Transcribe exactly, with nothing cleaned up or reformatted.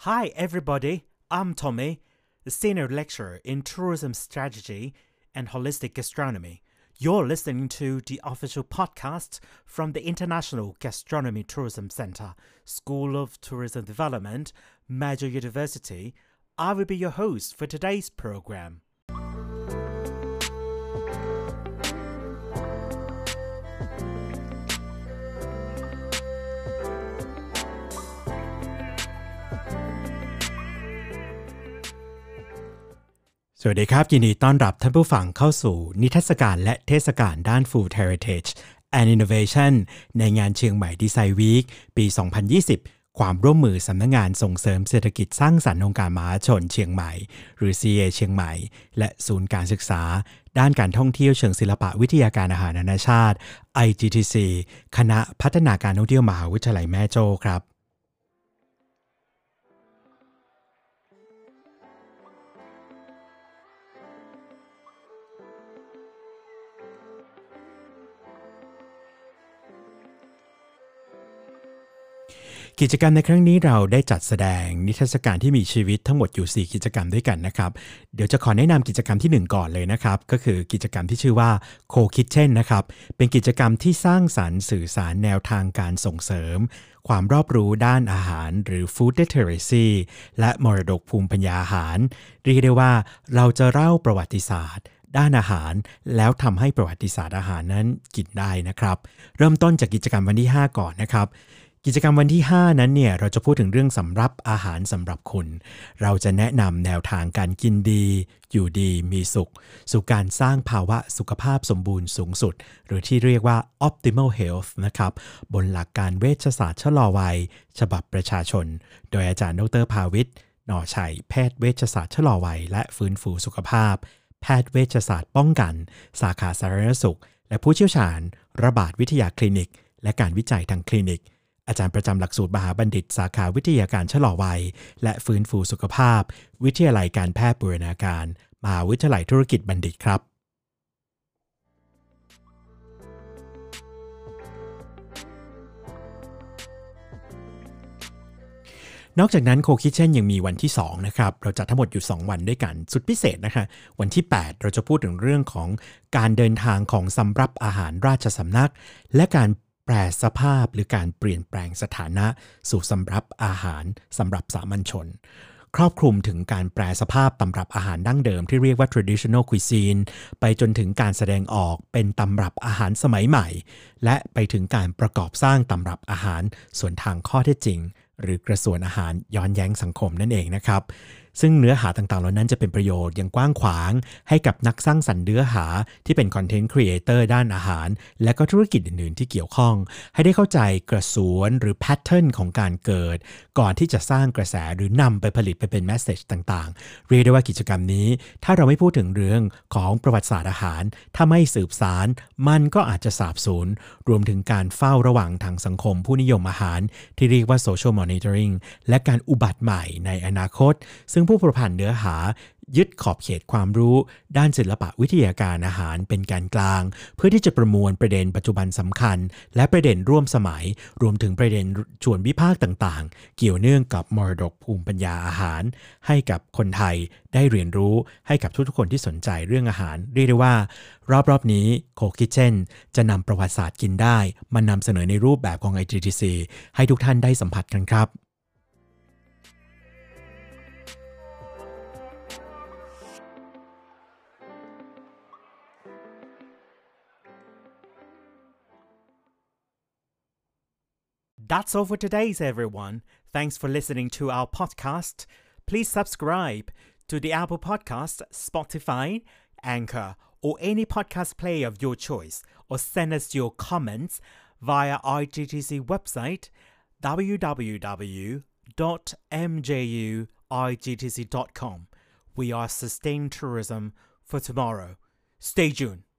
Hi everybody, I'm Tommy, the Senior Lecturer in Tourism Strategy and Holistic Gastronomy. You're listening to the official podcast from the International Gastronomy Tourism Center, School of Tourism Development, Major University. I will be your host for today's program.สวัสดีครับยินดีต้อนรับท่านผู้ฟังเข้าสู่นิทรรศการและเทศกาลด้าน Food Heritage and Innovation ในงานเชียงใหม่ดีไซน์วีคปี สองพันยี่สิบ ความร่วมมือสำนักงานส่งเสริมเศรษฐกิจสร้างสรรค์องค์การมหาชนเชียงใหม่หรือ ซี เอ เชียงใหม่และศูนย์การศึกษาด้านการท่องเที่ยวเชิงศิลปะวิทยาการอาหารนานาชาติ ไอ จี ที ซี คณะพัฒนาการท่องเที่ยวมหาวิทยาลัยแม่โจ้ครับกิจกรรมในครั้งนี้เราได้จัดแสดงนิทรรศการที่มีชีวิตทั้งหมดอยู่สี่กิจกรรมด้วยกันนะครับเดี๋ยวจะขอแนะนำกิจกรรมที่หนึ่งก่อนเลยนะครับก็คือกิจกรรมที่ชื่อว่า Co-Kitchen นะครับเป็นกิจกรรมที่สร้างสรรค์สื่อสารแนวทางการส่งเสริมความรอบรู้ด้านอาหารหรือ Food Literacy และมรดกภูมิปัญญาอาหารเรียกได้ว่าเราจะเล่าประวัติศาสตร์ด้านอาหารแล้วทำให้ประวัติศาสตร์อาหารนั้นกินได้นะครับเริ่มต้นจากกิจกรรมวันที่ห้าก่อนนะครับกิจกรรมวันที่ห้านั้นเนี่ยเราจะพูดถึงเรื่องสำรับอาหารสำหรับคุณเราจะแนะนำแนวทางการกินดีอยู่ดีมีสุขสู่การสร้างภาวะสุขภาพสมบูรณ์สูงสุดหรือที่เรียกว่า optimal health นะครับบนหลักการเวชศาสตร์ชะลอวัยฉบับประชาชนโดยอาจารย์ดรภาวิทย์หน่อชัยแพทย์เวชศาสตร์ชะลอวัยและฟื้นฟูสุขภาพแพทย์เวชศาสตร์ป้องกันสาขาสาธารณสุขและผู้เชี่ยวชาญระบาดวิทยาคลินิกและการวิจัยทางคลินิกอาจารย์ประจำหลักสูตรมหาบัณฑิตสาขาวิทยาการชะลอวัยและฟื้นฟูสุขภาพวิทยาลัยการแพทย์บูรณาการมหาวิทยาลัยธุรกิจบัณฑิตครับนอกจากนั้น Co-Kitchen ยังมีวันที่สองนะครับเราจัดทั้งหมดอยู่สองวันด้วยกันสุดพิเศษนะคะวันที่แปดเราจะพูดถึงเรื่องของการเดินทางของสำรับอาหารราชสำนักและการแปรสภาพหรือการเปลี่ยนแปลงสถานะสู่สำรับอาหารสำหรับสามัญชนครอบคลุมถึงการแปรสภาพตำรับอาหารดั้งเดิมที่เรียกว่า traditional cuisine ไปจนถึงการแสดงออกเป็นตำรับอาหารสมัยใหม่และไปถึงการประกอบสร้างตำรับอาหารส่วนทางข้อเท็จจริงหรือกระทรวงอาหารย้อนแย้งสังคมนั่นเองนะครับซึ่งเนื้อหาต่างๆเหล่านั้นจะเป็นประโยชน์อย่างกว้างขวางให้กับนักสร้างสรรค์เนื้อหาที่เป็นคอนเทนต์ครีเอเตอร์ด้านอาหารและก็ธุรกิจอื่นๆที่เกี่ยวข้องให้ได้เข้าใจกระสวนหรือแพทเทิร์นของการเกิดก่อนที่จะสร้างกระแสหรือนำไปผลิตไปเป็นแมสเสจต่างๆเรียกได้ว่ากิจกรรมนี้ถ้าเราไม่พูดถึงเรื่องของประวัติศาสตร์อาหารถ้าไม่สืบสานมันก็อาจจะสาบสูญรวมถึงการเฝ้าระวังทางสังคมผู้นิยมอาหารที่เรียกว่า social monitoring และการอุบัติใหม่ในอนาคตซึ่งผู้ประพันธ์เนื้อหายึดขอบเขตความรู้ด้านศิลปะวิทยาการอาหารเป็นการกลางเพื่อที่จะประมวลประเด็นปัจจุบันสำคัญและประเด็นร่วมสมัยรวมถึงประเด็นชวนวิพากษ์ต่างๆเกี่ยวเนื่องกับมรดกภูมิปัญญาอาหารให้กับคนไทยได้เรียนรู้ให้กับทุกๆคนที่สนใจเรื่องอาหารเรียกได้ว่ารอบๆนี้ Co-Kitchen จะนำประวัติศาสตร์กินได้มานำเสนอในรูปแบบของ ไอ จี ที ซี ให้ทุกท่านได้สัมผัสกันครับThat's all for today, everyone. Thanks for listening to our podcast. Please subscribe to the Apple Podcast, Spotify, Anchor, or any podcast player of your choice, or send us your comments via I G T C website w w w dot m j u i g t c dot com. We are Sustained Tourism for Tomorrow. Stay tuned.